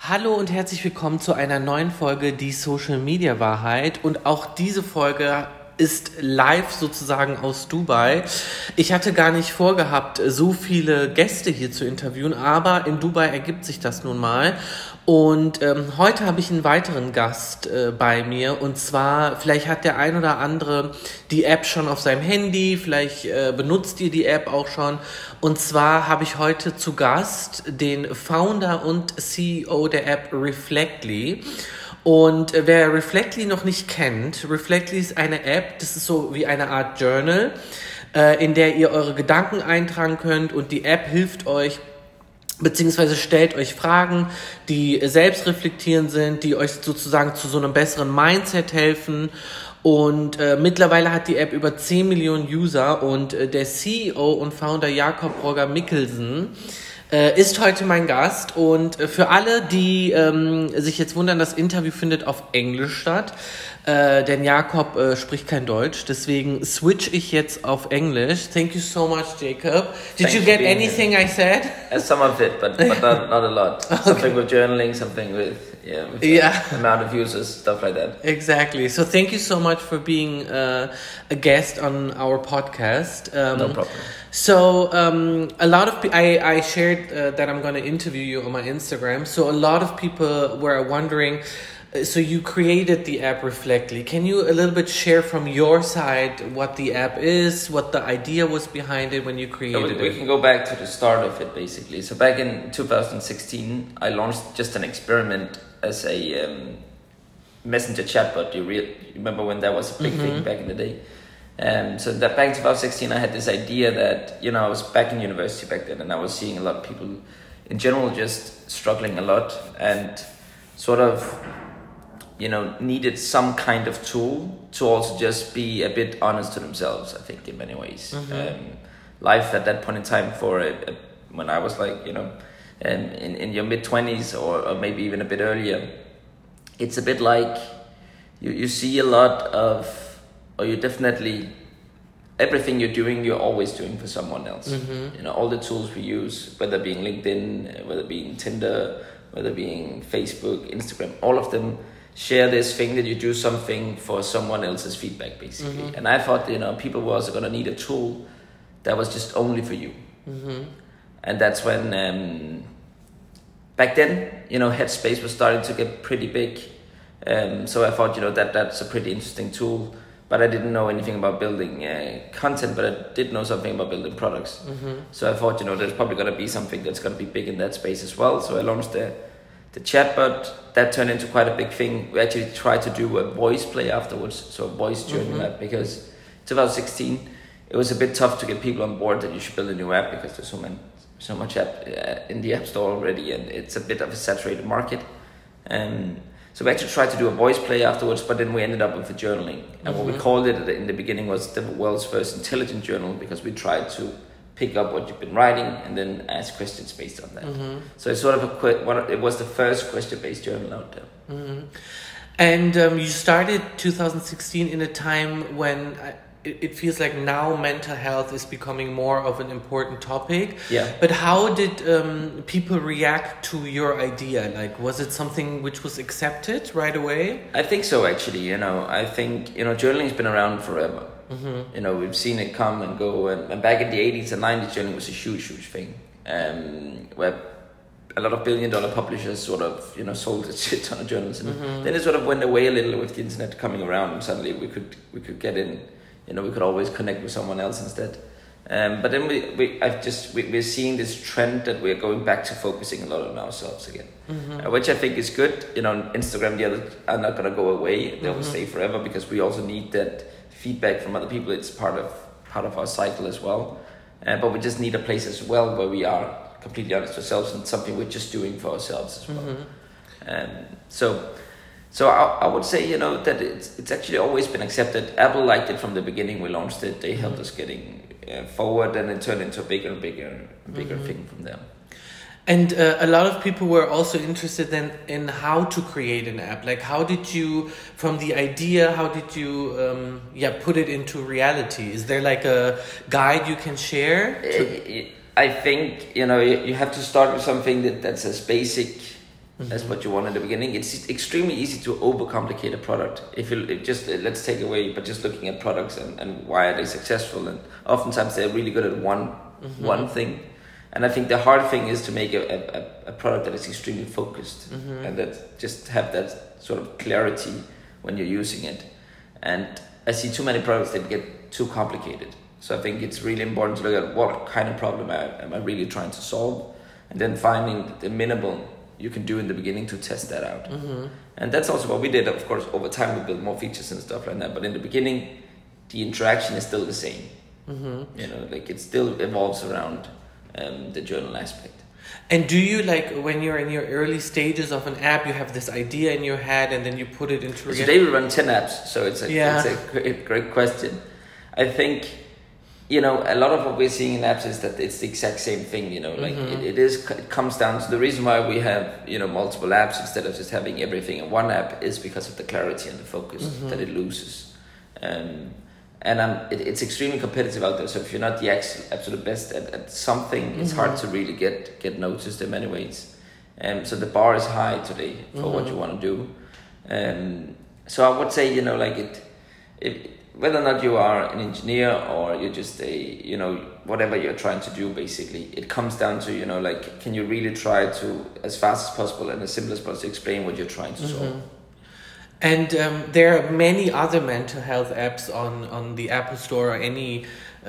Hallo und herzlich willkommen zu einer neuen Folge Die Social Media Wahrheit, und auch diese Folge ist live sozusagen aus Dubai. Ich hatte gar nicht vorgehabt, so viele Gäste hier zu interviewen, aber in Dubai ergibt sich das nun mal. Und heute habe ich einen weiteren Gast bei mir, und zwar, vielleicht hat der ein oder andere die App schon auf seinem Handy, vielleicht benutzt ihr die App auch schon. Und zwar habe ich heute zu Gast den Founder und CEO der App Reflectly. Und wer Reflectly noch nicht kennt, Reflectly ist eine App, das ist so wie eine Art Journal, in der ihr eure Gedanken eintragen könnt, und die App hilft euch, beziehungsweise stellt euch Fragen, die selbstreflektierend sind, die euch sozusagen zu so einem besseren Mindset helfen. Und mittlerweile hat die App über 10 Millionen User, und der CEO und Founder Jakob Roger Mikkelsen ist heute mein Gast. Und für alle, die sich jetzt wundern, das Interview findet auf Englisch statt, denn Jakob spricht kein Deutsch, deswegen switch ich jetzt auf Englisch. Thank you so much, Jacob. Did you get anything I said? Some of it, but not a lot. Okay. Something with journaling, something with amount of users, stuff like that. Exactly. So thank you so much for being a guest on our podcast. No problem. So a lot of I shared that I'm going to interview you on my Instagram. So a lot of people were wondering. So you created the app Reflectly. Can you a little bit share from your side what the app is, what the idea was behind it when you created it? We can go back to the start of it, basically. So back in 2016, I launched just an experiment as a messenger chatbot. You remember when that was a big thing back in the day? So that back in 2016, I had this idea that, I was back in university back then, and I was seeing a lot of people in general just struggling a lot and sort of needed some kind of tool to also just be a bit honest to themselves, I think, in many ways. Life at that point in time when I was like, in your mid-20s or maybe even a bit earlier, it's a bit like you see a lot of, or you definitely, everything you're doing, you're always doing for someone else. All the tools we use, whether being LinkedIn, whether being Tinder, whether being Facebook, Instagram, all of them share this thing that you do something for someone else's feedback, basically. And I thought, people were also going to need a tool that was just only for you. And that's when, back then, Headspace was starting to get pretty big. So I thought, that's a pretty interesting tool. But I didn't know anything about building content, but I did know something about building products. So I thought, there's probably going to be something that's going to be big in that space as well. So I launched the chatbot. That turned into quite a big thing. We actually tried to do a voice play afterwards, so a voice journal app, because 2016, it was a bit tough to get people on board that you should build a new app because there's so much app in the app store already, and it's a bit of a saturated market. So we actually tried to do a voice play afterwards, but then we ended up with the journaling. And what we called it in the beginning was the world's first intelligent journal, because we tried to pick up what you've been writing and then ask questions based on that. So it's sort of it was the first question-based journal out there. And you started 2016 in a time when it feels like now mental health is becoming more of an important topic. Yeah. But how did people react to your idea? Like, was it something which was accepted right away? I think so, actually. I think, journaling's been around forever. We've seen it come and go, and back in the 80s and 90s, journaling was a huge thing, where a lot of billion-dollar publishers sort of, sold a shit ton of journals, and then it sort of went away a little with the internet coming around, and suddenly we could get in, we could always connect with someone else instead. But then we're seeing this trend that we're going back to focusing a lot on ourselves again, which I think is good. Instagram, the others are not going to go away; they will stay forever, because we also need that feedback from other people. It's part of our cycle as well, but we just need a place as well where we are completely honest with ourselves and something we're just doing for ourselves as well. So I would say that it's actually always been accepted. Apple liked it from the beginning. We launched it. They helped us getting forward, and it turned into a bigger thing from there. And a lot of people were also interested in how to create an app. Like, how did you, from the idea, how did you put it into reality? Is there like a guide you can share? I think, you have to start with something that's as basic as what you want in the beginning. It's extremely easy to overcomplicate a product. If just let's take away, but just looking at products and why are they successful, and oftentimes they're really good at one thing. And I think the hard thing is to make a product that is extremely focused and that just have that sort of clarity when you're using it. And I see too many products that get too complicated. So I think it's really important to look at what kind of problem am I really trying to solve, and then finding the minimal you can do in the beginning to test that out. And that's also what we did. Of course, over time we built more features and stuff like that. But in the beginning, the interaction is still the same. You know, like it still evolves around the journal aspect. And do you, like, when you're in your early stages of an app, you have this idea in your head and then you put it into reality? Today we run 10 apps, so it's a great question. I think, you know, a lot of what we're seeing in apps is that it's the exact same thing, you know, like it comes down to the reason why we have, you know, multiple apps instead of just having everything in one app is because of the clarity and the focus that it loses. And it's extremely competitive out there. So if you're not the absolute best at something, it's hard to really get noticed in many ways. So the bar is high today for what you want to do. So I would say, you know, like whether or not you are an engineer or you're just you know, whatever you're trying to do, basically, it comes down to, you know, like, can you really try to, as fast as possible and as simple as possible, explain what you're trying to solve? And there are many other mental health apps on the Apple Store or any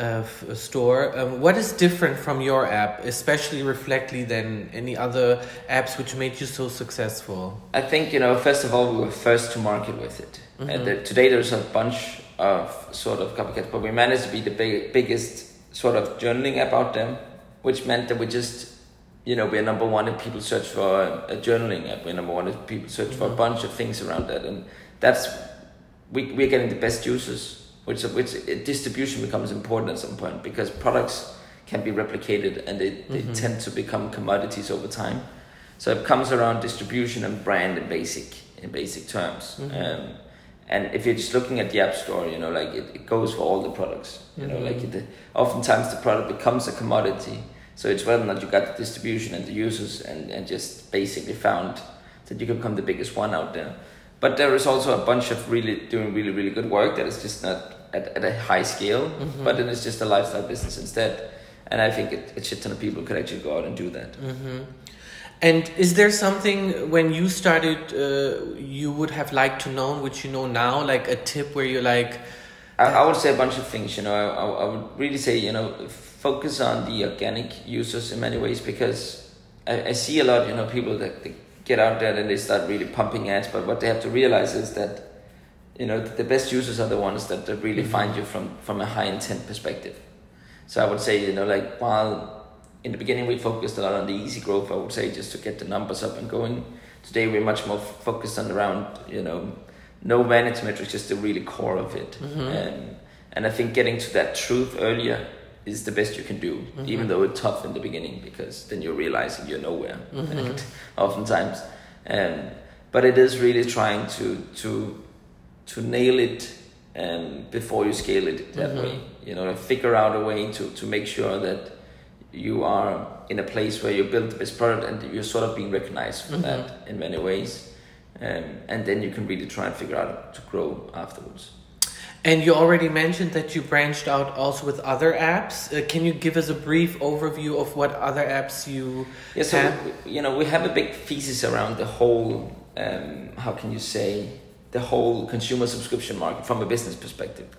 store. What is different from your app, especially Reflectly, than any other apps which made you so successful? I think, you know, first of all, we were first to market with it. And today there's a bunch of sort of copycats, but we managed to be the biggest sort of journaling app out there, which meant that we just, you know, we're number one if people search for a journaling app. We're number one if people search for a bunch of things around that. And that's, we're getting the best users, which distribution becomes important at some point, because products can be replicated and they tend to become commodities over time. So it comes around distribution and brand in basic terms. And if you're just looking at the App Store, you know, like it goes for all the products. You know, like oftentimes the product becomes a commodity. So it's whether or not you got the distribution and the users and just basically found that you can become the biggest one out there. But there is also a bunch of doing really good work that is just not at a high scale, but then it's just a lifestyle business instead. And I think a shit ton of people could actually go out and do that. And is there something when you started you would have liked to know, which you know now, like a tip where you're like... I would say a bunch of things, you know. I would really say, you know, focus on the organic users in many ways, because I see a lot, you know, people that they get out there and they start really pumping ads, but what they have to realize is that, you know, the best users are the ones that really find you from a high intent perspective. So I would say, you know, like, while in the beginning we focused a lot on the easy growth, I would say, just to get the numbers up and going. Today we're much more focused on around, you know, no vanity metrics, just the really core of it. And I think getting to that truth earlier is the best you can do, even though it's tough in the beginning, because then you're realizing you're nowhere, oftentimes. But it is really trying to nail it before you scale it that way. You know, figure out a way to make sure that you are in a place where you build the best product and you're sort of being recognized for that in many ways. And then you can really try and figure out how to grow afterwards. And you already mentioned that you branched out also with other apps. Can you give us a brief overview of what other apps you have? So, you know, we have a big thesis around the whole, how can you say, the whole consumer subscription market from a business perspective.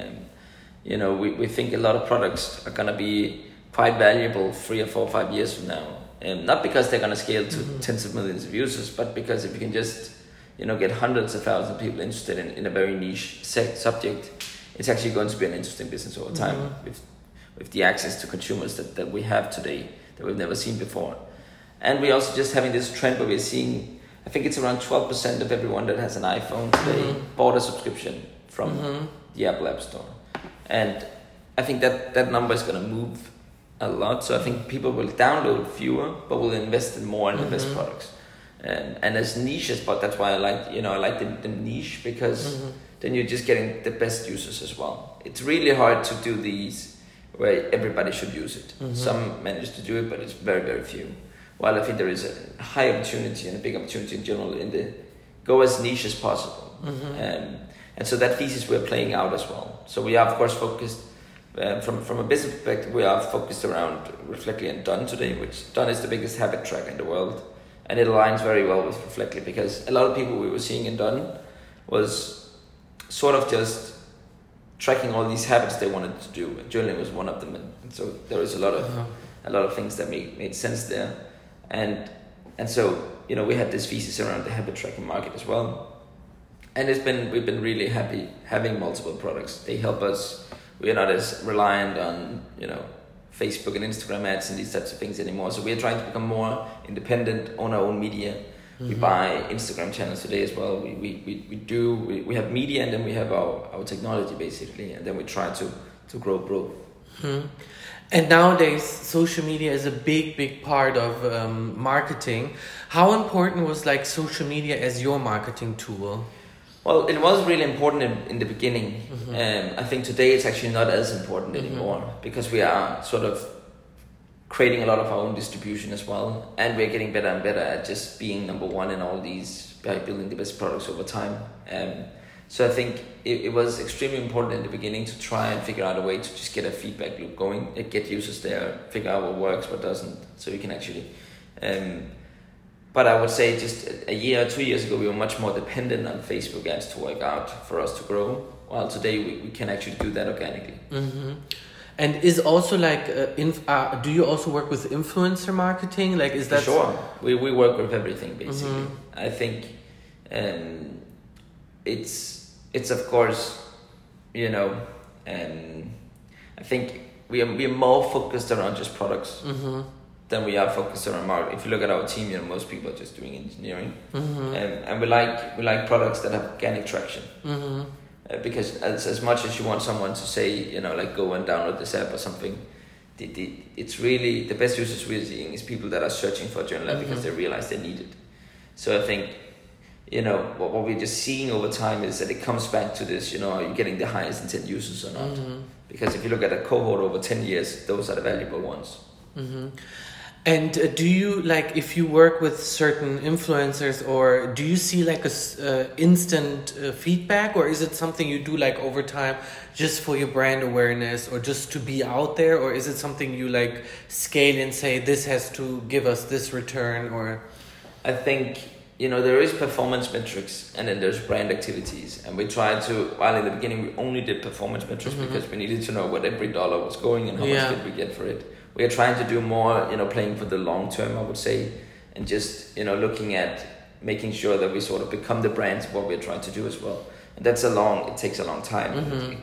You know, we think a lot of products are going to be quite valuable 3 or 4 or 5 years from now. Not because they're going to scale to tens of millions of users, but because if you can just, you know, get hundreds of thousands of people interested in a very niche subject, it's actually going to be an interesting business over time with the access to consumers that we have today that we've never seen before. And we're also just having this trend where we're seeing, I think it's around 12% of everyone that has an iPhone today bought a subscription from the Apple App Store. And I think that number is going to move a lot. So I think people will download fewer, but will invest in more in the best products. And as niches, but that's why I like the niche, because then you're just getting the best users as well. It's really hard to do these where everybody should use it. Some manage to do it, but it's very, very few. while I think there is a high opportunity and a big opportunity in general in the go as niche as possible. And so that thesis we're playing out as well. So we are of course focused from a business perspective. We are focused around Reflectly and Done today, which Done is the biggest habit tracker in the world, and it aligns very well with Reflectly because a lot of people we were seeing in Done was sort of just tracking all these habits they wanted to do. Journaling was one of them, and so there was a lot of things that made sense there, and so we had this thesis around the habit tracking market as well. And we've been really happy having multiple products. They help us. We are not as reliant on, Facebook and Instagram ads and these types of things anymore. So we are trying to become more independent, own our own media. We buy Instagram channels today as well. We have media, and then we have our technology basically, and then we try to grow both. And nowadays, social media is a big part of marketing. How important was social media as your marketing tool? Well, it was really important in the beginning. I think today it's actually not as important anymore because we are sort of creating a lot of our own distribution as well, and we're getting better and better at just being number one in all these, by building the best products over time. So I think it was extremely important in the beginning to try and figure out a way to just get a feedback loop going, get users there, figure out what works, what doesn't, so we can actually... But I would say just a year or 2 years ago, we were much more dependent on Facebook ads to work out for us to grow, while today we can actually do that organically. And is also do you also work with influencer marketing? Is that... Sure, we work with everything basically. I think it's of course, I think we are more focused around just products. Than we are focused around marketing. If you look at our team, most people are just doing engineering, and we like products that have organic traction. Because as much as you want someone to say, go and download this app or something, it's really the best users we're seeing is people that are searching for a journal app because they realize they need it. So I think, what we're just seeing over time is that it comes back to this, are you getting the highest intent users or not? Because if you look at a cohort over 10 years, those are the valuable ones. And do you if you work with certain influencers, or do you see instant feedback, or is it something you do over time just for your brand awareness or just to be out there, or is it something you scale and say this has to give us this return? Or I think there is performance metrics, and then there's brand activities, and we try to, while in the beginning we only did performance metrics because we needed to know what every dollar was going and how much did we get for it. We are trying to do more, playing for the long term, I would say, and just, looking at making sure that we sort of become the brands of what we're trying to do as well. And it takes a long time.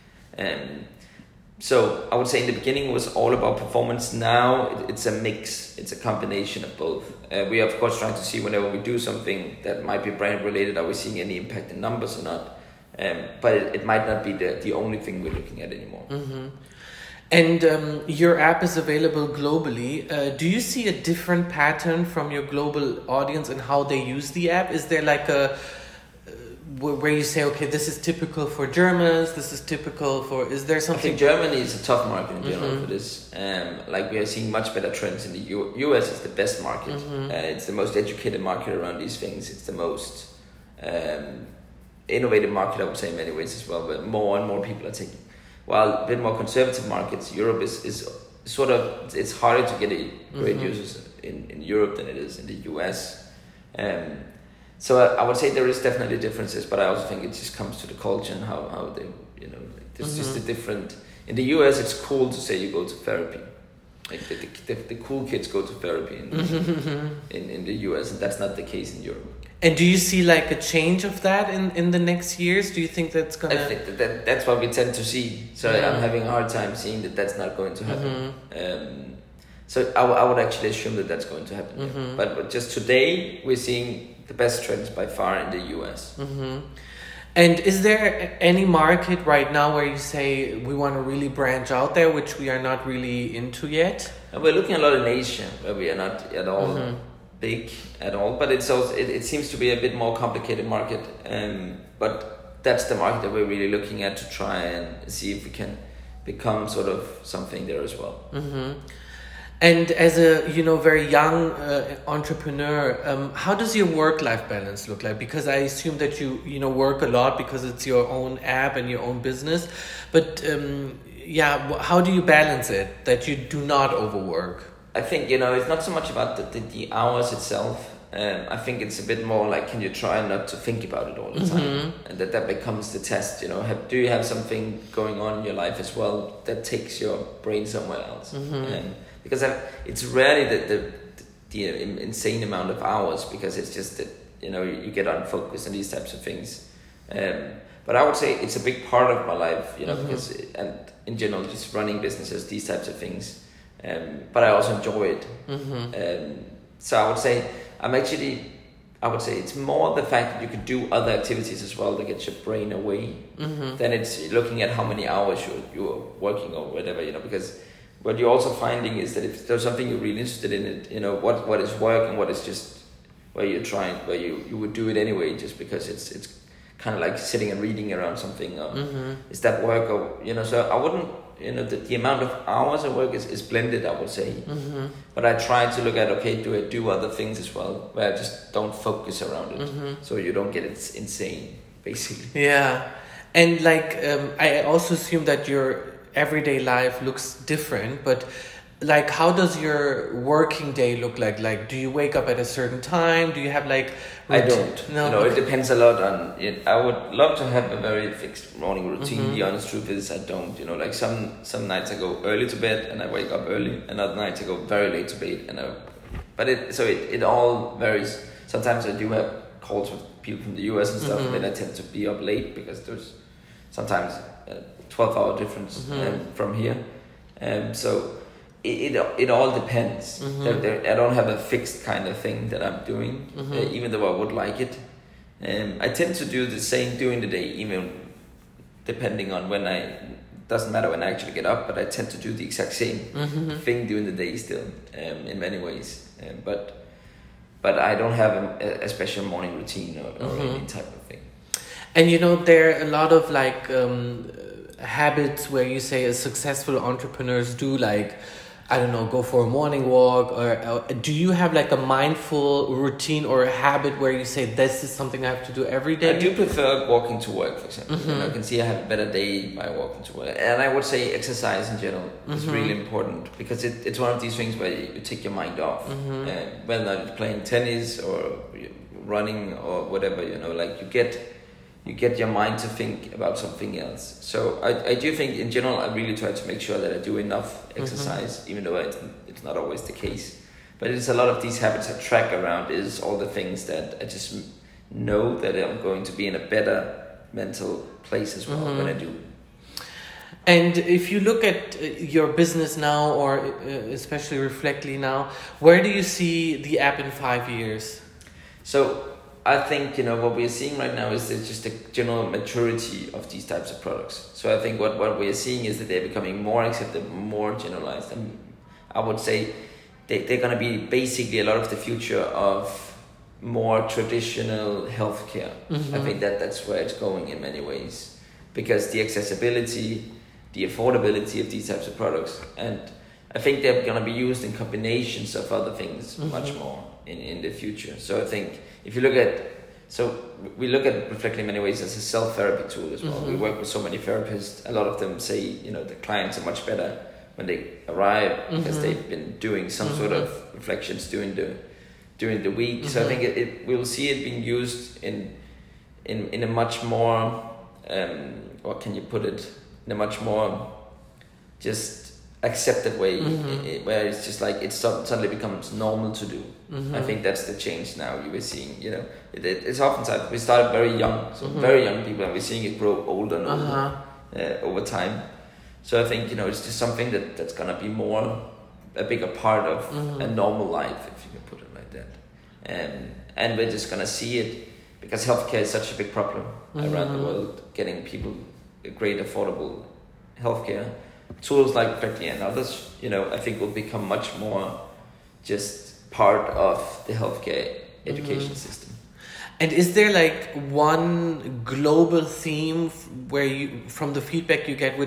So I would say in the beginning it was all about performance. Now it's a mix, it's a combination of both. We are of course trying to see whenever we do something that might be brand related, are we seeing any impact in numbers or not? But it might not be the only thing we're looking at anymore. And your app is available globally. Do you see a different pattern from your global audience and how they use the app? Is there where you say, okay, this is typical for Germans, this is typical for... Is there something... I think Germany is a tough market in general for this. We are seeing much better trends in the US is the best market. It's the most educated market around these things. It's the most innovative market, I would say, in many ways as well. But more and more people are taking... While a bit more conservative markets, Europe is sort of... It's harder to get great users in Europe than it is in the US. So I would say there is definitely differences, but I also think it just comes to the culture and how they, there's just a different... In the US, it's cool to say you go to therapy. The cool kids go to therapy in the US, and that's not the case in Europe. And do you see a change of that in the next years? Do you think that's going to... I think that's what we tend to see. So I'm having a hard time seeing that that's not going to happen. So I would actually assume that that's going to happen. But just today, we're seeing the best trends by far in the US. And is there any market right now where you say we want to really branch out there, which we are not really into yet? And we're looking a lot in Asia, where we are not at all big at all. But it's also, it seems to be a bit more complicated market. But that's the market that we're really looking at to try and see if we can become sort of something there as well. And as a very young entrepreneur, how does your work-life balance look like? Because I assume that you work a lot because it's your own app and your own business. But how do you balance it that you do not overwork? I think it's not so much about the hours itself. I think it's a bit more like, can you try not to think about it all the time, and that becomes the test. Do you have something going on in your life as well that takes your brain somewhere else? Because it's rarely the insane amount of hours, because it's just that you get unfocused and these types of things. But I would say it's a big part of my life, because and in general just running businesses, these types of things. But I also enjoy it. So I would say it's more the fact that you could do other activities as well to get your brain away. Then it's looking at how many hours you're working or whatever, because what you're also finding is that if there's something you're really interested in it, what is work and what is just where you would do it anyway just because it's kind of like sitting and reading around something, or is that work, or so I wouldn't, the amount of hours of work is blended, I would say. But I try to look at, okay, do I do other things as well, where I just don't focus around it, so you don't get it insane, basically. Yeah. And I also assume that your everyday life looks different, but how does your working day look like? Do you wake up at a certain time? Do you have I don't. No, it depends a lot on it. I would love to have a very fixed morning routine. The honest truth is I don't. Some nights I go early to bed and I wake up early, and other nights I go very late to bed. But it all varies. Sometimes I do have calls with people from the US and stuff, and then I tend to be up late because there's sometimes a 12-hour difference from here. So it all depends. I don't have a fixed kind of thing that I'm doing, even though I would like it. I tend to do the same during the day, even depending on doesn't matter when I actually get up, but I tend to do the exact same thing during the day still, in many ways. But I don't have a special morning routine or any type of thing. And there are a lot of habits where you say successful entrepreneurs do, go for a morning walk, or do you have a mindful routine or a habit where you say this is something I have to do every day? I do prefer walking to work, for example. I can see I have a better day by walking to work. And I would say exercise in general is really important, because it's one of these things where you take your mind off. Whether you're playing tennis or running or whatever, you get your mind to think about something else. So I do think in general, I really try to make sure that I do enough exercise, even though it's not always the case. But it's a lot of these habits I track around is all the things that I just know that I'm going to be in a better mental place as well when I do. And if you look at your business now, or especially Reflectly now, where do you see the app in 5 years? So I think what we are seeing right now is just a general maturity of these types of products. So I think what we are seeing is that they're becoming more accepted, more generalized, and I would say they're going to be basically a lot of the future of more traditional healthcare. I think that's where it's going in many ways, because the accessibility, the affordability of these types of products, and I think they're going to be used in combinations of other things much more in the future. So I think if you look at, we look at Reflectly in many ways as a self-therapy tool as well. We work with so many therapists. A lot of them say, the clients are much better when they arrive because they've been doing some sort of reflections during the week. So I think we'll see it being used in a much more, what can you put it, in a much more just accepted way, where it's just it suddenly becomes normal to do. I think that's the change now you were seeing. It's oftentimes we started very young, so very young people, and we're seeing it grow older and older over time. So I think it's just something that's gonna be a bigger part of a normal life, if you can put it like that. And we're just gonna see it because healthcare is such a big problem around the world. Getting people a great affordable healthcare. Tools like Reflectly and others, I think will become much more just part of the healthcare education system. And is there one global theme where from the feedback you get, which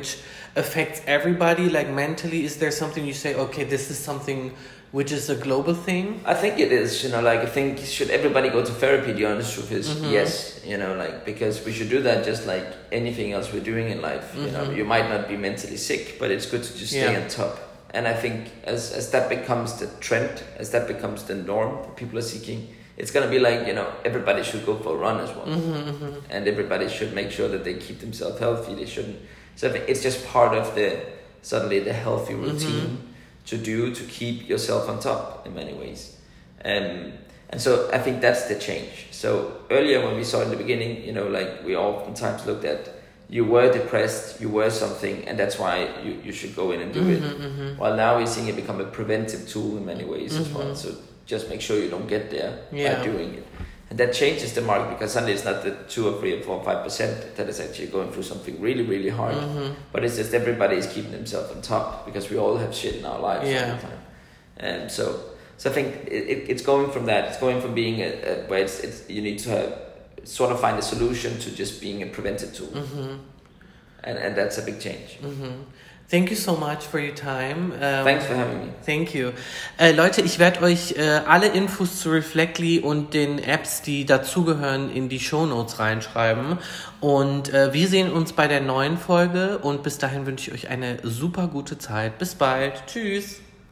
affects everybody, like mentally? Is there something you say, okay, this is something which is a global thing? I think it is, like, I think should everybody go to therapy? The honest truth is yes, like, because we should do that just like anything else we're doing in life. You might not be mentally sick, but it's good to just stay on top. And I think as that becomes the trend, as that becomes the norm that people are seeking, it's going to be like, everybody should go for a run as well. And everybody should make sure that they keep themselves healthy. They shouldn't. So I think it's just part of the healthy routine to keep yourself on top in many ways. And so I think that's the change. So earlier when we saw in the beginning, like we oftentimes looked at, you were depressed, you were something, and that's why you should go in and do it. While now we're seeing it become a preventive tool in many ways as well. So just make sure you don't get there by doing it. And that changes the market, because suddenly it's not the 2 or 3 or 4 or 5% that is actually going through something really, really hard. But it's just everybody is keeping themselves on top, because we all have shit in our lives all the time. And so I think it's going from that. It's going from being where it's you need to sort of find a solution to just being a preventive tool. And that's a big change. Thank you so much for your time. Thanks for having me. Thank you. Leute, ich werde euch alle Infos zu Reflectly und den Apps, die dazugehören, in die Shownotes reinschreiben. Und wir sehen uns bei der neuen Folge. Und bis dahin wünsche ich euch eine super gute Zeit. Bis bald. Tschüss.